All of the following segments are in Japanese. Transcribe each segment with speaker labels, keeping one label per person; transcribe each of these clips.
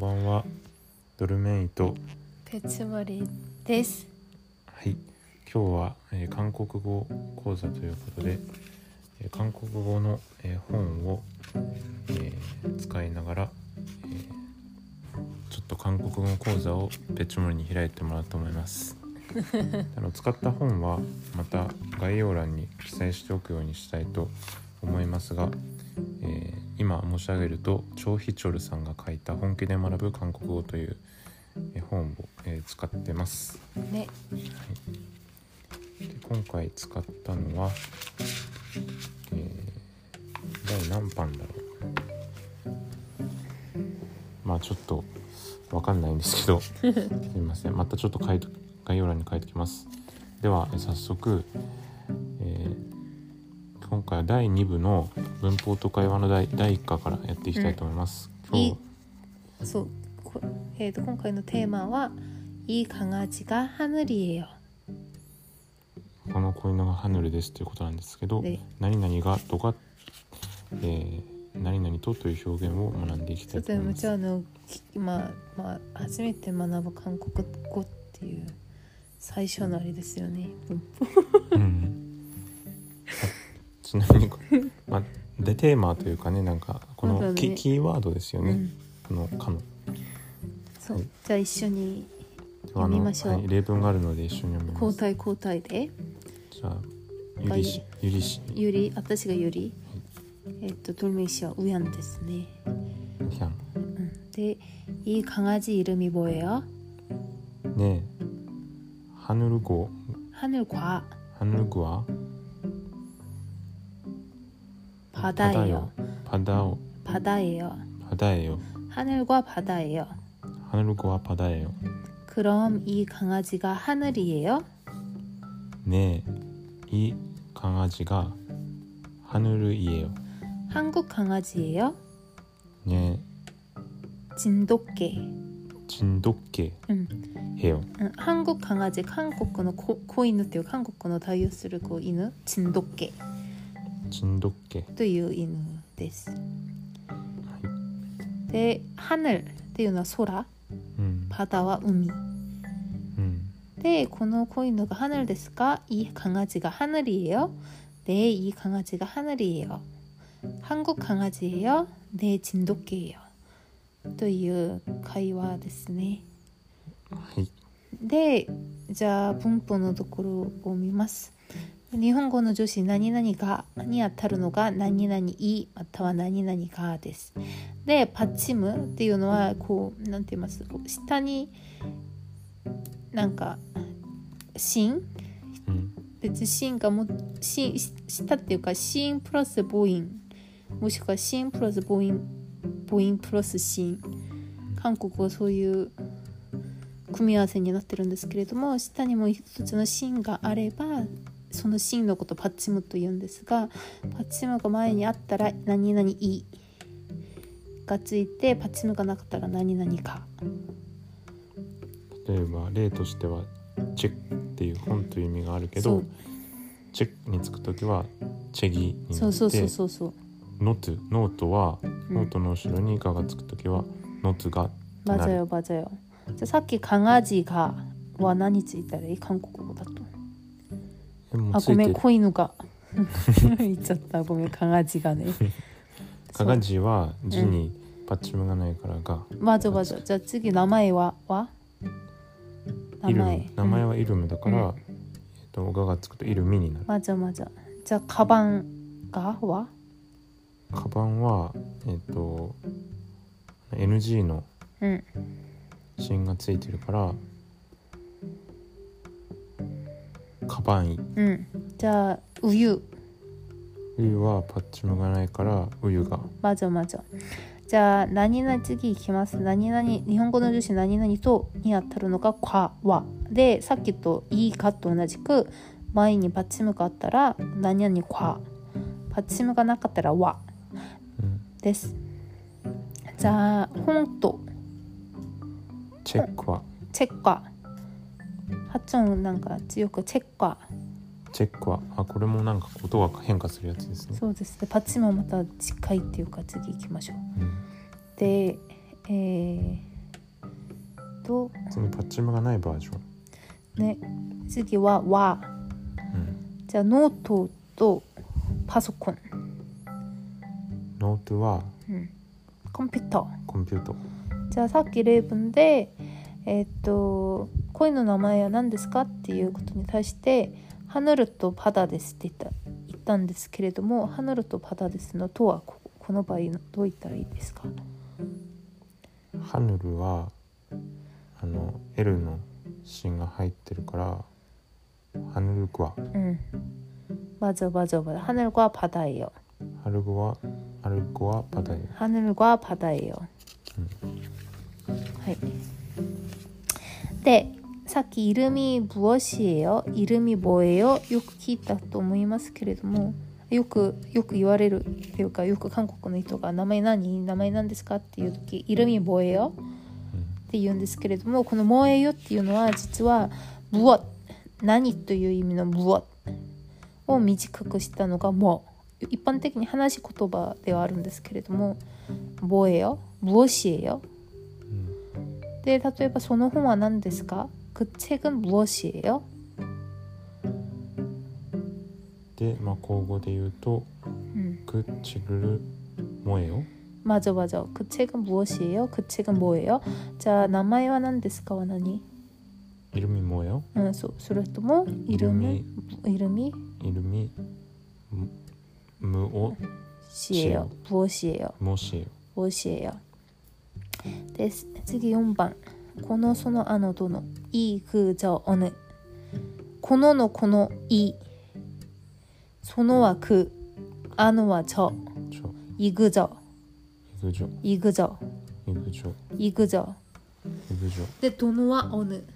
Speaker 1: ばんは。ドルメイと
Speaker 2: ペツモリです。
Speaker 1: はい、今日は、韓国語講座ということで、韓国語の、本を、使いながら、ちょっと韓国語講座をペツモリに開いてもらおうと思います使った本はまた概要欄に記載しておくようにしたいと思いますが、今申し上げるとチョーヒチョルさんが書いた本気で学ぶ韓国語という本を、使ってます
Speaker 2: ね。
Speaker 1: はい、で今回使ったのは、第何版だろう。まあちょっとわかんないんですけどすいません。またちょっと概要欄に書いておきます。では早速、今回は第2部の文法と会話の第1課からやっていきたいと思います。
Speaker 2: 今回のテーマは이 강아지가 하늘이에요。
Speaker 1: この子犬がハヌルですということなんですけど、何々がとか、何々とという表現を学んでいきたいと思います。
Speaker 2: じゃあ初めて学ぶ韓国語っていう最初のあれですよね。ちなみに、でテーマというかね、なんかこのキーワードですよね。このかの。 そう、じゃあ一緒に読みましょう。
Speaker 1: 例文があるので一緒に読みます。
Speaker 2: 交代で。
Speaker 1: じゃあゆり氏。
Speaker 2: 私がゆり。돌메이 씨와 우연ですね。で、이 강아지 이름이 뭐예요?
Speaker 1: 네, 하늘과
Speaker 2: 바다예요.
Speaker 1: 하늘과 바다예요.
Speaker 2: 그럼 이 강아지가 하늘이에요?
Speaker 1: 네, 이 강아지가 하늘이에요.
Speaker 2: 한국 강아지예요?
Speaker 1: 네,
Speaker 2: 진돗개
Speaker 1: 해요.
Speaker 2: 한국 강아지, 한국의 고인우っていう韓国の代表する犬、진돗개という犬です。で、하늘っていうのは空、바다は海。で、この子犬が하늘ですか? 이 강아지가 하늘이에요? 네, 이 강아지가 하늘이에요. 한국 강아지예요? 네, 진돗개예요. という会話ですね。
Speaker 1: はい。
Speaker 2: で、じゃあ文法のところを見ます。日本語の助詞何々がに当たるのが何々いまたは何々がです。で、パッチムっていうのはなんて言います？下になんか心、別に心が下っていうか心プラス母音、もしくは心プラス母音プラス心。韓国はそういう組み合わせになってるんですけれども、下にも一つの心があればその心のことをパッチムと言うんですが、パッチムが前にあったら何々いがついて、パッチムがなかったら何々か。
Speaker 1: 例えば例としてはチェックっていう本という意味があるけど、チェックにつくときはチェギになって、ノートはノートの後ろにガがつくときはノツがなる。
Speaker 2: 맞아요。じゃあさっき강아지가は何ついたらいい？韓国語だと。ごめん、子犬が言っちゃった。ごめん、강아지가ね。
Speaker 1: 강아지は字にパッチムがないからが。
Speaker 2: 맞아。じゃあ次名前は？名
Speaker 1: 前はイルムだから、ががつくとイルミになる。
Speaker 2: 맞아。じゃあカバンがは？
Speaker 1: カバンはNG の芯がついてるから、カバンイ。
Speaker 2: じゃあウユ
Speaker 1: はパッチムがないからウユが。
Speaker 2: 맞아。じゃあ何々次いきます。何々、日本語の助詞何々とに当たるのがかはで、さっきといいかと同じく前にパッチムがあったら何々か、パッチムがなかったらはです。じゃあ本と
Speaker 1: チェックは
Speaker 2: 発音なんか強くチェックは
Speaker 1: これもなんか音が変化するやつですね。
Speaker 2: そうですね。パッチもまた近いっていうか次行きましょう。で、
Speaker 1: 次パッチムがないバージョン。
Speaker 2: ね、次は和。じゃあノートとパソコン。
Speaker 1: ノートは、
Speaker 2: コンピューター。
Speaker 1: コンピューター。
Speaker 2: じゃあさっき例文で恋の名前は何ですかっていうことに対してハヌルとパダですって言ったんですけれども、ハヌルとパダですのとはこの場合どう言ったらいいですか？
Speaker 1: ハヌルはL の芯が入ってるからハヌルクワ。
Speaker 2: 맞아. 하늘과 바다예요.
Speaker 1: 하늘과 바다예요.
Speaker 2: 하늘과 바다예요. はい。で、さっき이름이 무엇이에요? 이름이 뭐예요? よく聞いたと思いますけれども、よく言われるっていうか、よく韓国の人が名前何ですかっていう時、이름이 뭐예요? って言うんですけれども、この뭐예요っていうのは実は무엇、何という意味の무엇を短くしたのがもう一般的に話し言葉ではあるんですけれども、뭐예요? 무엇이에요? で、例えばその本は何ですか? 그 책은 무엇이에요?
Speaker 1: で、口語で言うと、그 책을 뭐예요?
Speaker 2: 맞아. 그 책은 무엇이에요? 그 책은 뭐예요? 자, 名前は何ですかは何?
Speaker 1: 이름이 뭐예요?
Speaker 2: それとも 이름이 무엇이에요? 무엇이에요? です。次4番。このそのあのどのいくじょおぬ。こののこのい。そのはく。あのはちょ。いぐじょ。で、どのはおぬ。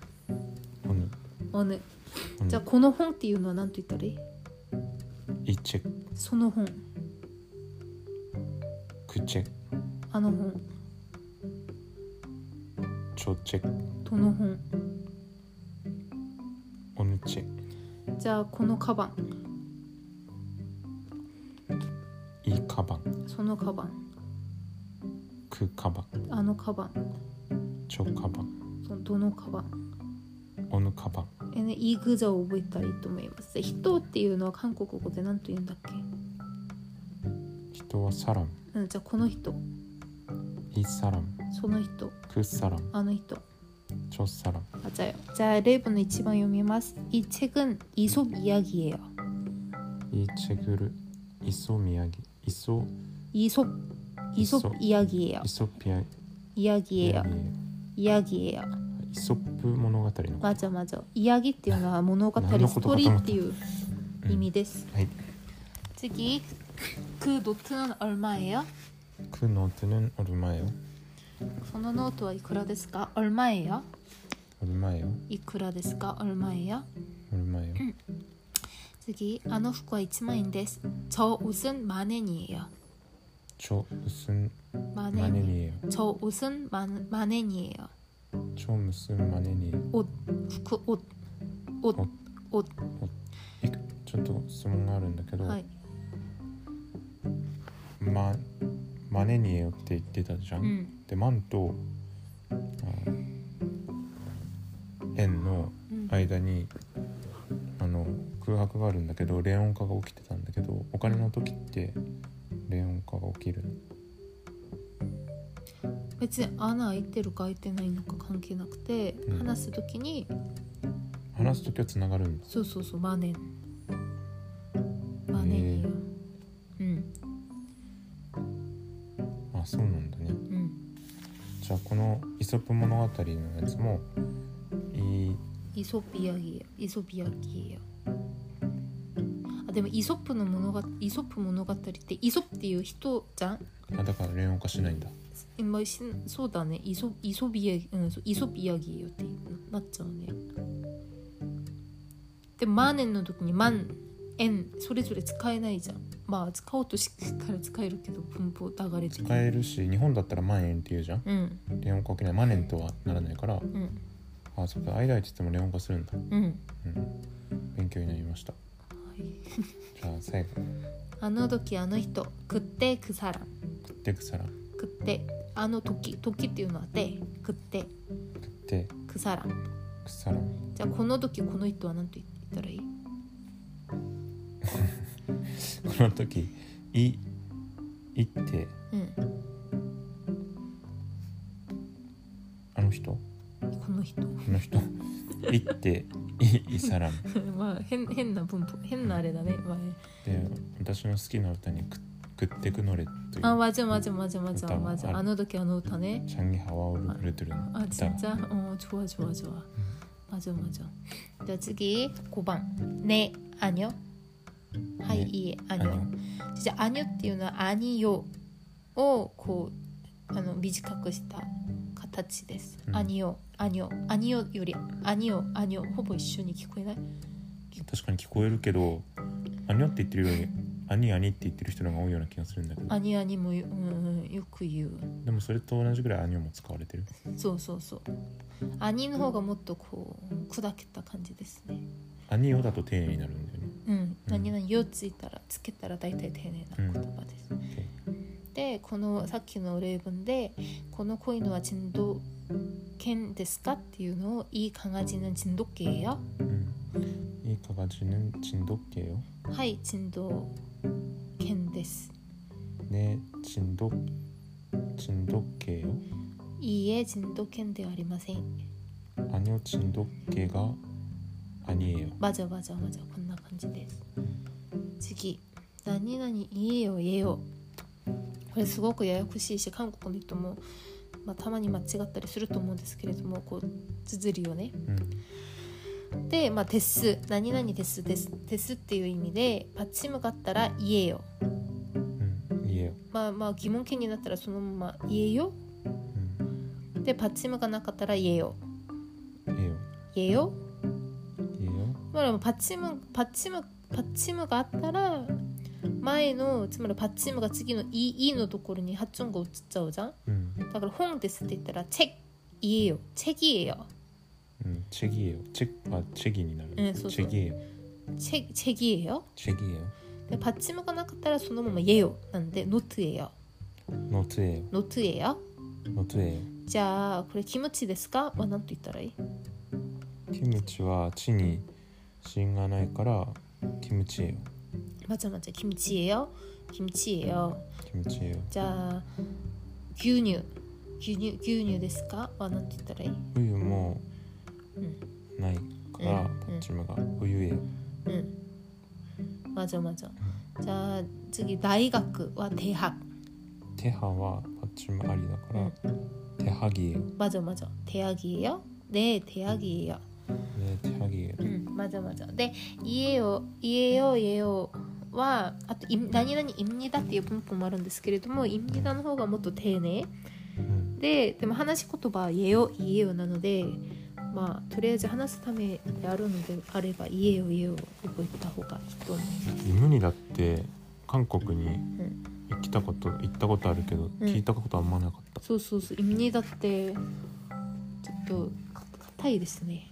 Speaker 2: じゃあこの本っていうのは何と言ったらいい？
Speaker 1: 이 책。
Speaker 2: その本。
Speaker 1: 그 책。
Speaker 2: あの本。
Speaker 1: 저 책。
Speaker 2: どの本。
Speaker 1: 어느 책。
Speaker 2: じゃあこのカバン。
Speaker 1: 이 가방。
Speaker 2: そのカバン。
Speaker 1: 그 가방。
Speaker 2: あのカバン。
Speaker 1: 저 가방。
Speaker 2: どのカバン。
Speaker 1: 어느 가방。
Speaker 2: イグザを覚えたらいいと思います。人っていうのは韓国語で何と言うんだっけ？
Speaker 1: 人はサラム。
Speaker 2: じゃあこの人。
Speaker 1: 이 사람。
Speaker 2: その人。
Speaker 1: 그 사람。
Speaker 2: あの人。
Speaker 1: 저 사람。
Speaker 2: 맞아요。じゃあ例文の1番読みます。이 책은 이솝 이야기예요.
Speaker 1: 이 책은 이솝 이야기. 이솝
Speaker 2: 이야기예요. 이야기예요.
Speaker 1: 이솝物語の。
Speaker 2: 맞아. 이야기っていうのは物語、ストーリーっていう意味です。
Speaker 1: はい。
Speaker 2: 次、그 노트는 얼마예요?
Speaker 1: 그 노트는 얼마예요?
Speaker 2: そのノートはいくらですか? 얼마예요?
Speaker 1: 얼마예요?
Speaker 2: いくらですか? 얼마예요?
Speaker 1: 얼마예요?
Speaker 2: 次、あの服は1万円です. 저 옷은 만 엔이에요.
Speaker 1: 저 옷은 만 엔이에요.
Speaker 2: 저 옷은 만 엔이에요.
Speaker 1: 저 무슨 만 엔이에요?
Speaker 2: 옷.
Speaker 1: ちょっと質問があるんだけど、
Speaker 2: はい。
Speaker 1: マネニエよって言ってたじゃん、で万と円の間に、空白があるんだけど連音化が起きてたんだけど、お金の時って連音化が起きる？
Speaker 2: 別に穴開いてるか開いてないのか関係なくて、話す時は
Speaker 1: つながるんだ。
Speaker 2: そうマネニよ。
Speaker 1: あ、そうなんだね。じゃあこのイソップ物語のやつもイソップイヤギよ。あ、でもイソップ物語ってイソップっていう人じゃん。あ、だから連音化しないんだ。そうだね。イソップイヤギよってなっちゃうね。で万円の時に万円それぞれ使えないじゃん。まあ使おうとから使えるけど文法流れて使えるし、日本だったら万円って言うじゃん。連音化起きない。万円とはならないから、あ、そうか、間って言っても連音化するんだ。勉強になりました。じゃあ最後。あの時あの人、그때 그 사람。그때 그 사람。그때あの時っていうのはで、그때 て
Speaker 2: 그 사람.
Speaker 1: くさらん。
Speaker 2: じゃあこの時この人は何と言ったらいい？
Speaker 1: この時いって
Speaker 2: うん。
Speaker 1: あの人
Speaker 2: この人。
Speaker 1: この人いっていさらん
Speaker 2: まあ変な文法、変なあれだね。まあね。
Speaker 1: で私の好きな歌に食ってくのれという
Speaker 2: 아 맞아 맞아 맞아 맞아
Speaker 1: 歌
Speaker 2: 맞아.
Speaker 1: あ
Speaker 2: 아の時あの歌ね.
Speaker 1: 장이 하와오를 부르들은
Speaker 2: 아 진짜? 좋아 좋아 좋아. 맞아 맞아. 자, 次 5번. 네, 아니요. 하이, 이, 아니요. 진짜 아니요 っていうのは 아니요 をこう短くした形です。아니요, 아니요, 아니요 より 아니요, 아니요 ほぼ一緒に聞こえない？
Speaker 1: 確かに聞こえるけどアニョって言ってるよりアニアニって言ってる人の方が多いような気がするんだけど、
Speaker 2: アニアニも、よく言う。
Speaker 1: でもそれと同じぐらいアニョも使われてる。
Speaker 2: そうそうそう。アニの方がもっとこう砕けた感じですね。
Speaker 1: アニオだと丁寧になるんだよね。
Speaker 2: 何々よつけたら大体丁寧な言葉です。で、このさっきの例文でこの子犬は진돗犬ですかっていうのを이 강아지는 진돗개예요?
Speaker 1: 이 강아지는 진돗개요?
Speaker 2: 하이 진돗犬です.
Speaker 1: 네, 진돗개요?
Speaker 2: 이에 진돗개는ではありません.
Speaker 1: 아니요, 진돗개가 아니에요.
Speaker 2: 맞아. こんな感じです. 次, 何々言えよ言えよ. これすごくややこしいし、韓国の人も、たまに間違ったりすると思うんですけれども、こう綴りをね。で、です、何々ですっていう意味で、パッチムがあったら言えよ。
Speaker 1: 言えよ。
Speaker 2: 疑問形になったらそのまま言えよ。で、パッチムがなかったら言えよ。言えよ。パッチムがあったら前のつまりパッチムが次のいのところに発音が移っちゃうじゃん。だから本ですって言ったら책言えよ。책이에요。
Speaker 1: 책이에요。책이になる。
Speaker 2: そう。
Speaker 1: 책이에요。
Speaker 2: 책이에요。でパッチムがなかったらそのまま言えよなんでノ트예요。じゃあこれキムチですかは何と言ったらいい？
Speaker 1: キムチは地に芯がないからキムチ예요。
Speaker 2: 맞아 김치예요. 자, 牛乳ですかは何て言ったらいい？
Speaker 1: 冬もないからパッチムが冬예요。
Speaker 2: 맞아。じゃあ次大学は대학。
Speaker 1: 대학はパッチムありだから대학이에요。
Speaker 2: 맞아。대학이에요？네 대학이에요。맞아。で言えよはあと何々입니다っていう文法もあるんですけれども、입니다の方がもっと丁寧でも話し言葉は言えよなので、とりあえず話すためであるのであれば言えよ覚えた方がいいと思います。
Speaker 1: イムニだって韓国に行ったことあるけど、聞いたことあんまなかった。
Speaker 2: そう입니다ってちょっと硬いですね。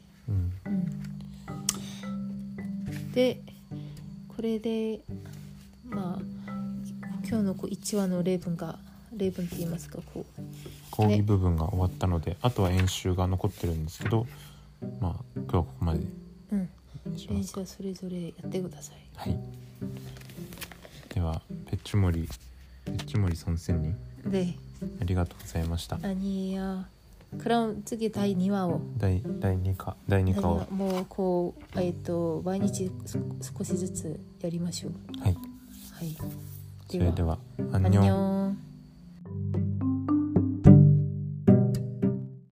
Speaker 2: でこれで今日の1話の例文って言いますか
Speaker 1: 講義部分が終わったので、あとは演習が残ってるんですけど、今日はここまでしますか。
Speaker 2: 練習はそれぞれやってください。
Speaker 1: はい。ではペッチモリ선생님
Speaker 2: 네
Speaker 1: ありがとうございました。
Speaker 2: 아니에요. 그럼次第2話を
Speaker 1: 第2課を
Speaker 2: もうこう毎日少しずつやりましょう。
Speaker 1: はい。
Speaker 2: はい。
Speaker 1: それでは
Speaker 2: 안녕。